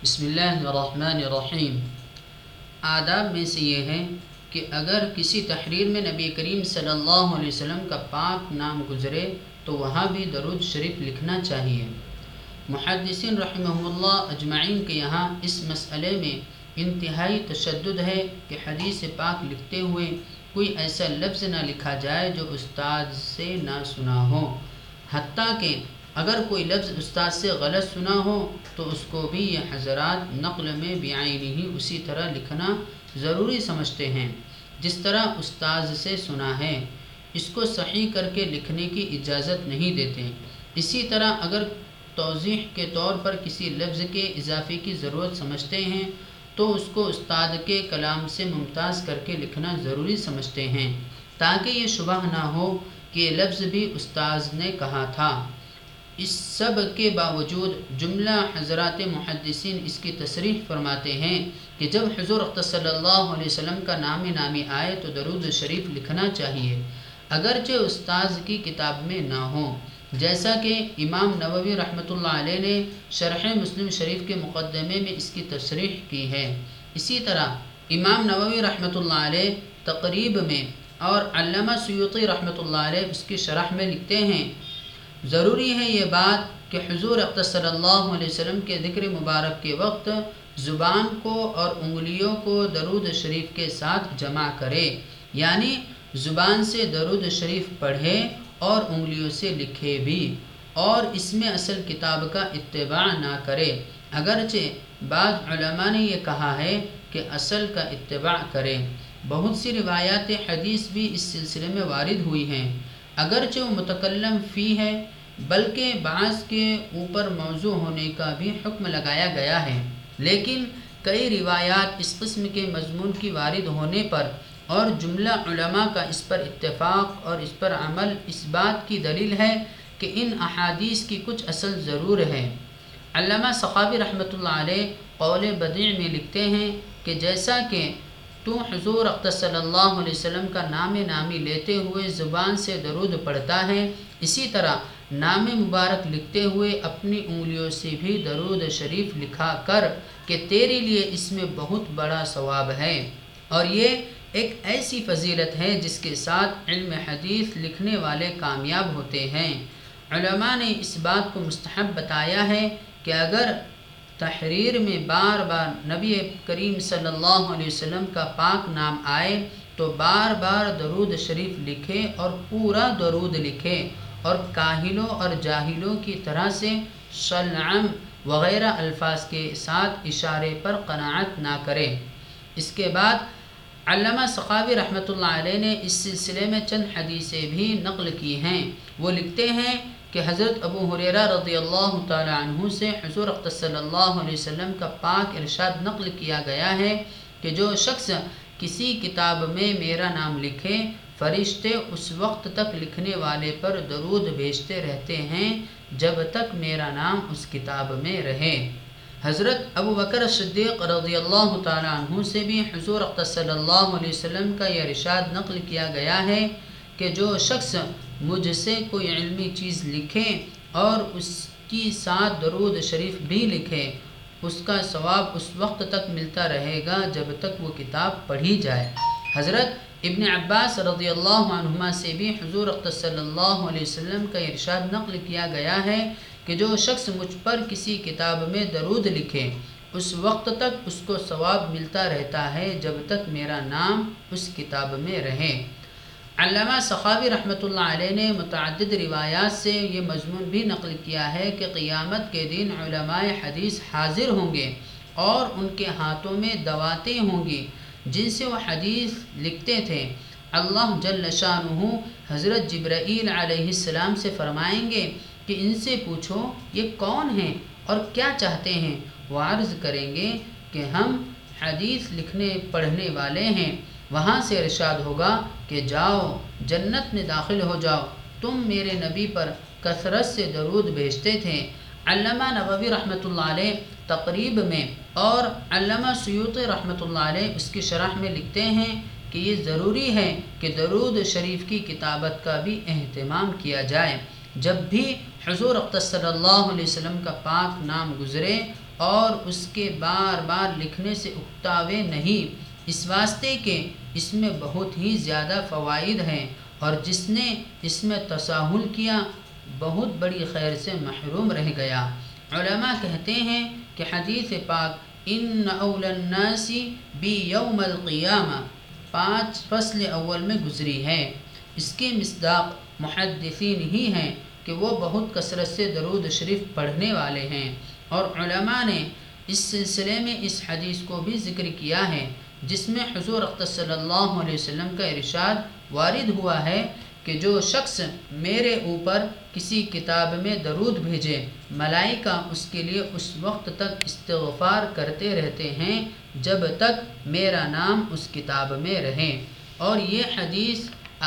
بسم اللہ الرحمن الرحیم۔ آداب میں سے یہ ہے کہ اگر کسی تحریر میں نبی کریم صلی اللہ علیہ وسلم کا پاک نام گزرے تو وہاں بھی درود شریف لکھنا چاہیے۔ محدثین رحمہم اللہ اجمعین کے یہاں اس مسئلے میں انتہائی تشدد ہے کہ حدیث پاک لکھتے ہوئے کوئی ایسا لفظ نہ لکھا جائے جو استاد سے نہ سنا ہو، حتیٰ کہ اگر کوئی لفظ استاد سے غلط سنا ہو تو اس کو بھی یہ حضرات نقل میں بعینہ اسی طرح لکھنا ضروری سمجھتے ہیں جس طرح استاد سے سنا ہے، اس کو صحیح کر کے لکھنے کی اجازت نہیں دیتے۔ اسی طرح اگر توضیح کے طور پر کسی لفظ کے اضافے کی ضرورت سمجھتے ہیں تو اس کو استاد کے کلام سے ممتاز کر کے لکھنا ضروری سمجھتے ہیں، تاکہ یہ شبہ نہ ہو کہ یہ لفظ بھی استاد نے کہا تھا۔ اس سب کے باوجود جملہ حضرات محدثین اس کی تصریح فرماتے ہیں کہ جب حضور صلی اللہ علیہ وسلم کا نام نامی آئے تو درود شریف لکھنا چاہیے، اگرچہ استاذ کی کتاب میں نہ ہو، جیسا کہ امام نووی رحمۃ اللہ علیہ نے شرح مسلم شریف کے مقدمے میں اس کی تصریح کی ہے۔ اسی طرح امام نووی رحمۃ اللہ علیہ تقریب میں اور علامہ سیوطی رحمۃ اللہ علیہ اس کی شرح میں لکھتے ہیں، ضروری ہے یہ بات کہ حضور صلی اللہ علیہ وسلم کے ذکر مبارک کے وقت زبان کو اور انگلیوں کو درود شریف کے ساتھ جمع کرے، یعنی زبان سے درود شریف پڑھے اور انگلیوں سے لکھے بھی، اور اس میں اصل کتاب کا اتباع نہ کرے، اگرچہ بعض علماء نے یہ کہا ہے کہ اصل کا اتباع کرے۔ بہت سی روایات حدیث بھی اس سلسلے میں وارد ہوئی ہیں، اگرچہ وہ متکلم فی ہے، بلکہ بعض کے اوپر موضوع ہونے کا بھی حکم لگایا گیا ہے، لیکن کئی روایات اس قسم کے مضمون کی وارد ہونے پر اور جملہ علماء کا اس پر اتفاق اور اس پر عمل اس بات کی دلیل ہے کہ ان احادیث کی کچھ اصل ضرور ہے۔ علامہ سخاوی رحمۃ اللہ علیہ قول بدیع میں لکھتے ہیں کہ جیسا کہ تو حضور صلی اللہ علیہ وسلم کا نام نامی لیتے ہوئے زبان سے درود پڑھتا ہے، اسی طرح نام مبارک لکھتے ہوئے اپنی انگلیوں سے بھی درود شریف لکھا کر کہ تیرے لیے اس میں بہت بڑا ثواب ہے، اور یہ ایک ایسی فضیلت ہے جس کے ساتھ علم حدیث لکھنے والے کامیاب ہوتے ہیں۔ علماء نے اس بات کو مستحب بتایا ہے کہ اگر تحریر میں بار بار نبی کریم صلی اللہ علیہ وسلم کا پاک نام آئے تو بار بار درود شریف لکھے اور پورا درود لکھے، اور کاہلوں اور جاہلوں کی طرح سے شلعم وغیرہ الفاظ کے ساتھ اشارے پر قناعت نہ کرے۔ اس کے بعد علامہ سخاوی رحمۃ اللہ علیہ نے اس سلسلے میں چند حدیثیں بھی نقل کی ہیں۔ وہ لکھتے ہیں کہ حضرت ابو ہریرہ رضی اللہ تعالی عنہ سے حضور صلی اللہ علیہ وسلم کا پاک ارشاد نقل کیا گیا ہے کہ جو شخص کسی کتاب میں میرا نام لکھے، فرشتے اس وقت تک لکھنے والے پر درود بھیجتے رہتے ہیں جب تک میرا نام اس کتاب میں رہے۔ حضرت ابو بکر صدیق رضی اللہ تعالی عنہ سے بھی حضور صلی اللہ علیہ وسلم کا یہ ارشاد نقل کیا گیا ہے کہ جو شخص مجھ سے کوئی علمی چیز لکھے اور اس کی ساتھ درود شریف بھی لکھے، اس کا ثواب اس وقت تک ملتا رہے گا جب تک وہ کتاب پڑھی جائے۔ حضرت ابن عباس رضی اللہ عنہما سے بھی حضور صلی اللہ علیہ وسلم کا ارشاد نقل کیا گیا ہے کہ جو شخص مجھ پر کسی کتاب میں درود لکھے، اس وقت تک اس کو ثواب ملتا رہتا ہے جب تک میرا نام اس کتاب میں رہے۔ علامہ سخاوی رحمۃ اللہ علیہ نے متعدد روایات سے یہ مضمون بھی نقل کیا ہے کہ قیامت کے دن علماء حدیث حاضر ہوں گے اور ان کے ہاتھوں میں دواتیں ہوں گی جن سے وہ حدیث لکھتے تھے۔ اللہ جل شانہ حضرت جبرائیل علیہ السلام سے فرمائیں گے کہ ان سے پوچھو یہ کون ہیں اور کیا چاہتے ہیں؟ وہ عرض کریں گے کہ ہم حدیث لکھنے پڑھنے والے ہیں۔ وہاں سے ارشاد ہوگا کہ جاؤ جنت میں داخل ہو جاؤ، تم میرے نبی پر کثرت سے درود بھیجتے تھے۔ علامہ نووی رحمۃ اللہ علیہ تقریب میں اور علامہ سیوطی رحمۃ اللہ علیہ اس کی شرح میں لکھتے ہیں کہ یہ ضروری ہے کہ درود شریف کی کتابت کا بھی اہتمام کیا جائے۔ جب بھی حضور صلی اللہ علیہ وسلم کا پاک نام گزرے اور اس کے بار بار لکھنے سے اکتاوے نہیں، اس واسطے کہ اس میں بہت ہی زیادہ فوائد ہیں، اور جس نے اس میں تساہل کیا بہت بڑی خیر سے محروم رہ گیا۔ علماء کہتے ہیں کہ حدیث پاک ان اول الناس بی یوم القیامہ 5 فصل اول میں گزری ہے۔ اس کے مصداق محدثین ہی ہیں کہ وہ بہت کثرت سے درود شریف پڑھنے والے ہیں، اور علماء نے اس سلسلے میں اس حدیث کو بھی ذکر کیا ہے جس میں حضور اقدس صلی اللہ علیہ وسلم کا ارشاد وارد ہوا ہے کہ جو شخص میرے اوپر کسی کتاب میں درود بھیجے، ملائکہ اس کے لیے اس وقت تک استغفار کرتے رہتے ہیں جب تک میرا نام اس کتاب میں رہے۔ اور یہ حدیث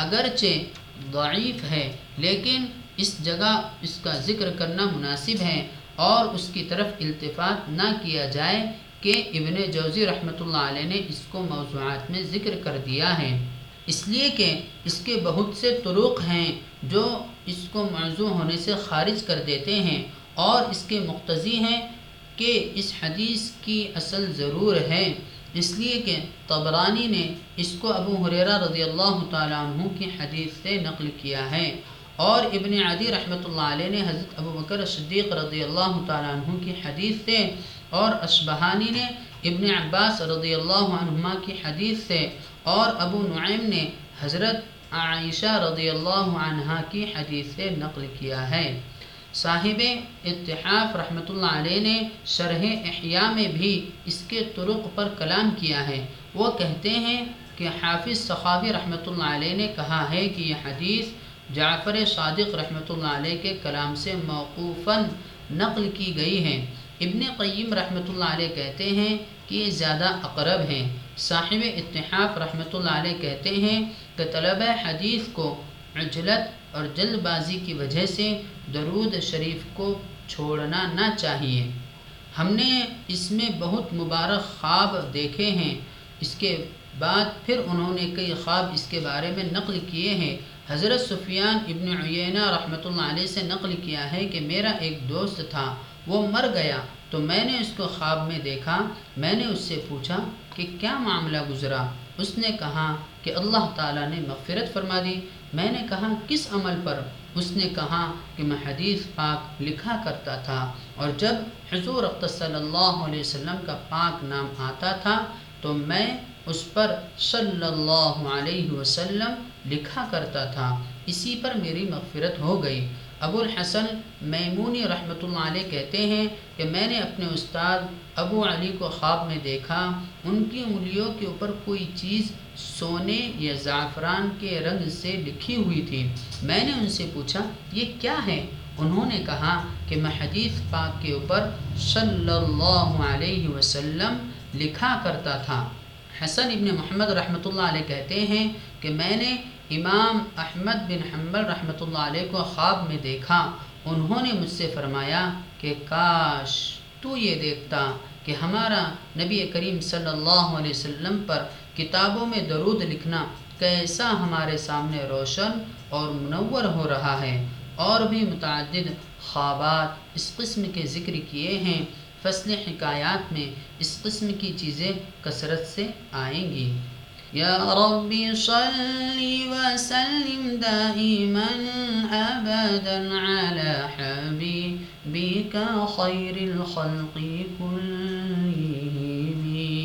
اگرچہ ضعیف ہے لیکن اس جگہ اس کا ذکر کرنا مناسب ہے، اور اس کی طرف التفات نہ کیا جائے کہ ابن جوزی رحمۃ اللہ علیہ نے اس کو موضوعات میں ذکر کر دیا ہے، اس لیے کہ اس کے بہت سے طرق ہیں جو اس کو موضوع ہونے سے خارج کر دیتے ہیں، اور اس کے مقتضی ہیں کہ اس حدیث کی اصل ضرور ہے، اس لیے کہ طبرانی نے اس کو ابو ہریرہ رضی اللہ تعالیٰ عنہ کی حدیث سے نقل کیا ہے، اور ابن عدی رحمۃ اللہ علیہ نے حضرت ابو بکر صدیق رضی اللہ تعالیٰ عنہ کی حدیث سے، اور اشبہانی نے ابن عباس رضی اللہ عنہما کی حدیث سے، اور ابو نعیم نے حضرت عائشہ رضی اللہ عنہا کی حدیث سے نقل کیا ہے۔ صاحب اتحاف رحمۃ اللہ علیہ نے شرح احیاء میں بھی اس کے طرق پر کلام کیا ہے۔ وہ کہتے ہیں کہ حافظ سخاوی رحمۃ اللہ علیہ نے کہا ہے کہ یہ حدیث جعفر صادق رحمۃ اللہ علیہ کے کلام سے موقوفاً نقل کی گئی ہے۔ ابن قیم رحمۃ اللہ علیہ کہتے ہیں کہ یہ زیادہ اقرب ہیں۔ صاحب اتحاف رحمۃ اللہ علیہ کہتے ہیں کہ طلبہ حدیث کو عجلت اور جلد بازی کی وجہ سے درود شریف کو چھوڑنا نہ چاہیے۔ ہم نے اس میں بہت مبارک خواب دیکھے ہیں۔ اس کے بعد پھر انہوں نے کئی خواب اس کے بارے میں نقل کیے ہیں۔ حضرت سفیان ابن عیینہ رحمۃ اللہ علیہ سے نقل کیا ہے کہ میرا ایک دوست تھا، وہ مر گیا تو میں نے اس کو خواب میں دیکھا۔ میں نے اس سے پوچھا کہ کیا معاملہ گزرا؟ اس نے کہا کہ اللہ تعالیٰ نے مغفرت فرما دی۔ میں نے کہا کس عمل پر؟ اس نے کہا کہ میں حدیث پاک لکھا کرتا تھا، اور جب حضور اقدس صلی اللہ علیہ وسلم کا پاک نام آتا تھا تو میں اس پر صلی اللہ علیہ وسلم لکھا کرتا تھا، اسی پر میری مغفرت ہو گئی۔ ابو الحسن میمونی رحمۃ اللہ علیہ کہتے ہیں کہ میں نے اپنے استاد ابو علی کو خواب میں دیکھا، ان کی انگلیوں کے اوپر کوئی چیز سونے یا زعفران کے رنگ سے لکھی ہوئی تھی۔ میں نے ان سے پوچھا یہ کیا ہے؟ انہوں نے کہا کہ میں حدیث پاک کے اوپر صلی اللہ علیہ وسلم لکھا کرتا تھا۔ حسن ابن محمد رحمۃ اللہ علیہ کہتے ہیں کہ میں نے امام احمد بن حنبل رحمۃ اللہ علیہ کو خواب میں دیکھا، انہوں نے مجھ سے فرمایا کہ کاش تو یہ دیکھتا کہ ہمارا نبی کریم صلی اللہ علیہ وسلم پر کتابوں میں درود لکھنا کیسا ہمارے سامنے روشن اور منور ہو رہا ہے۔ اور بھی متعدد خوابات اس قسم کے ذکر کیے ہیں۔ فصل حکایات میں اس قسم کی چیزیں کثرت سے آئیں گی۔ یا رب صلی وسلم دائما ابدا علی حبیبک خیر الخلق کلہم۔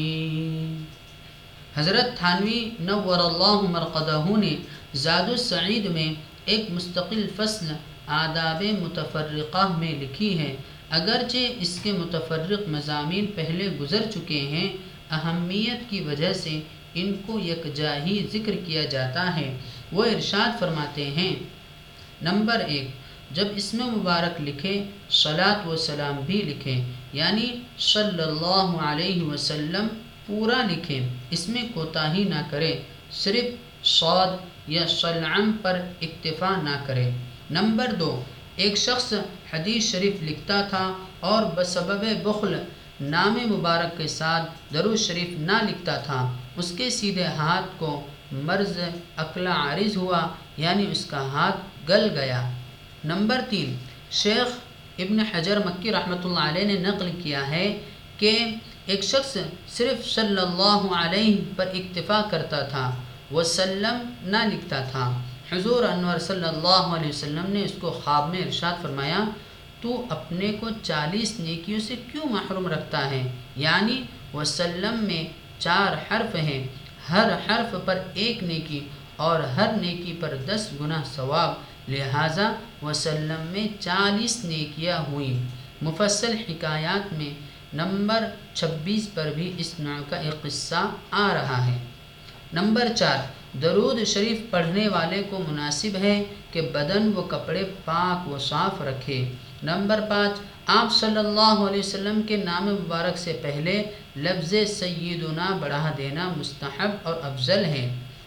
حضرت تھانوی نور اللہ مرقدہ نے زاد السعید میں ایک مستقل فصل آداب متفرقہ میں لکھی ہے۔ اگرچہ اس کے متفرق مضامین پہلے گزر چکے ہیں، اہمیت کی وجہ سے ان کو یکجا ہی ذکر کیا جاتا ہے۔ وہ ارشاد فرماتے ہیں، نمبر 1، جب اسم مبارک لکھے صلاۃ و سلام بھی لکھیں، یعنی صلی اللہ علیہ وسلم پورا لکھیں، اس میں کوتاہی نہ کرے، صرف صاد یا صلعم پر اکتفا نہ کرے۔ نمبر 2، ایک شخص حدیث شریف لکھتا تھا اور بسبب بخل نام مبارک کے ساتھ درود شریف نہ لکھتا تھا، اس کے سیدھے ہاتھ کو مرض اکلہ عارض ہوا، یعنی اس کا ہاتھ گل گیا۔ نمبر 3، شیخ ابن حجر مکی رحمۃ اللہ علیہ نے نقل کیا ہے کہ ایک شخص صرف صلی اللہ علیہ پر اکتفا کرتا تھا، وسلم نہ لکھتا تھا۔ حضور انور صلی اللہ علیہ وسلم نے اس کو خواب میں ارشاد فرمایا، تو اپنے کو 40 نیکیوں سے کیوں محروم رکھتا ہے؟ یعنی وسلم میں 4 حرف ہیں، ہر حرف پر 1 نیکی اور ہر نیکی پر 10 گنا ثواب، لہٰذا وسلم میں 40 نیکیاں ہوئیں۔ مفصل حکایات میں نمبر 26 پر بھی اس نوع کا ایک قصہ آ رہا ہے۔ نمبر 4، درود شریف پڑھنے والے کو مناسب ہے کہ بدن و کپڑے پاک و صاف رکھے۔ نمبر 5، آپ صلی اللہ علیہ وسلم کے نام مبارک سے پہلے لفظ سیدنا بڑھا دینا مستحب اور افضل ہے۔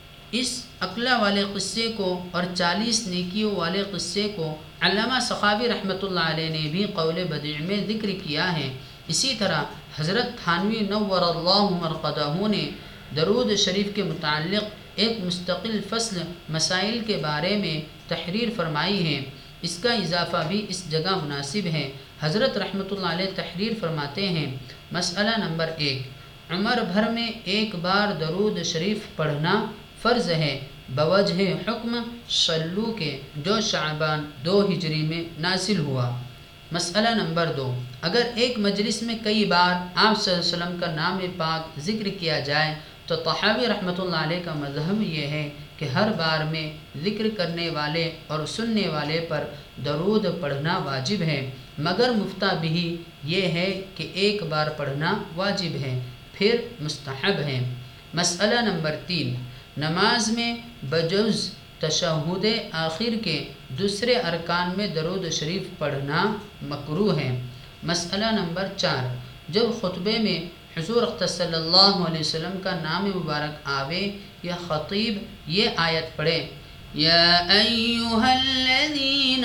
اس عقلہ والے قصے کو اور 40 نیکیوں والے قصے کو علامہ سخاوی رحمۃ اللہ علیہ نے بھی قول بدیع میں ذکر کیا ہے۔ اسی طرح حضرت تھانوی نور اللہ مرقدہ نے درود شریف کے متعلق ایک مستقل فصل مسائل کے بارے میں تحریر فرمائی ہے۔ اس کا اضافہ بھی اس جگہ مناسب ہے۔ حضرت رحمۃ اللہ علیہ تحریر فرماتے ہیں، مسئلہ نمبر 1، عمر بھر میں 1 بار درود شریف پڑھنا فرض ہے بوجہ حکم صلو کے، جو شعبان 2 ہجری میں نازل ہوا۔ مسئلہ نمبر 2، اگر ایک مجلس میں کئی بار آپ صلی اللہ علیہ وسلم کا نام پاک ذکر کیا جائے تو طحاوی رحمۃ اللہ علیہ کا مذہب یہ ہے کہ ہر بار میں ذکر کرنے والے اور سننے والے پر درود پڑھنا واجب ہے، مگر مفتہ بھی یہ ہے کہ 1 بار پڑھنا واجب ہے، پھر مستحب ہے۔ مسئلہ نمبر 3، نماز میں بجز تشہد آخر کے دوسرے ارکان میں درود شریف پڑھنا مکروہ ہے۔ مسئلہ نمبر 4، جب خطبے میں حضور صلی اللہ علیہ وسلم کا نام مبارک آوے یا خطیب یہ آیت پڑھے، یا ایہا الذین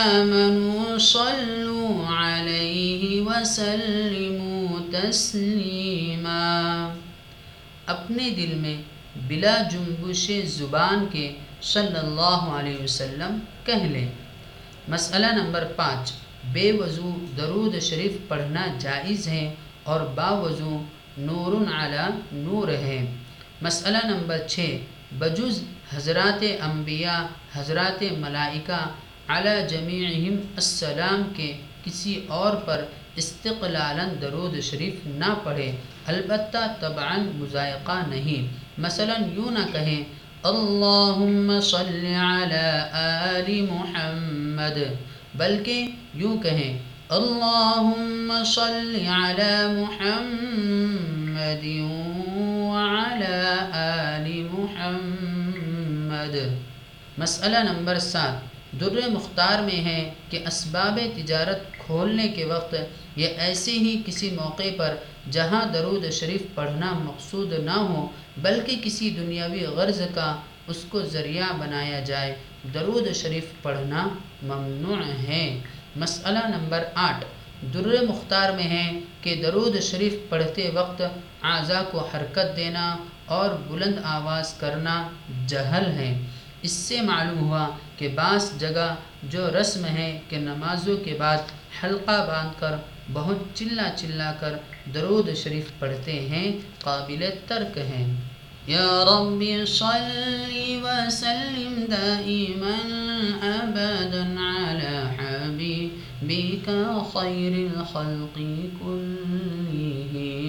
آمنوا صلوا علیہ وسلموا تسلیما، اپنے دل میں بلا جنبش زبان کے صلی اللہ علیہ وسلم کہہ لیں۔ مسئلہ نمبر 5، بے وضو درود شریف پڑھنا جائز ہے اور باوضو نور علی نور ہے۔ مسئلہ نمبر 6، بجز حضرات انبیاء، حضرات ملائکہ علی جمیعہم السلام کے کسی اور پر استقلالاً درود شریف نہ پڑھے، البتہ طبعاً مضائقہ نہیں۔ مثلا یوں نہ کہیں اللہم صلی علی آل محمد، بلکہ یوں کہیں اللہم صلی علی محمد وعلی آل محمد۔ مسئلہ نمبر 7، در مختار میں ہے کہ اسباب تجارت کھولنے کے وقت یا ایسے ہی کسی موقع پر جہاں درود شریف پڑھنا مقصود نہ ہو بلکہ کسی دنیاوی غرض کا اس کو ذریعہ بنایا جائے، درود شریف پڑھنا ممنوع ہے۔ مسئلہ نمبر 8، در مختار میں ہے کہ درود شریف پڑھتے وقت اعضاء کو حرکت دینا اور بلند آواز کرنا جہل ہے۔ اس سے معلوم ہوا کہ بعض جگہ جو رسم ہے کہ نمازوں کے بعد حلقہ باندھ کر بہت چلا چلا کر درود شریف پڑھتے ہیں، قابل ترک ہیں۔ یا رب صلی وسلم دائما ابدا علی حبیبک خیر الخلق کلہم۔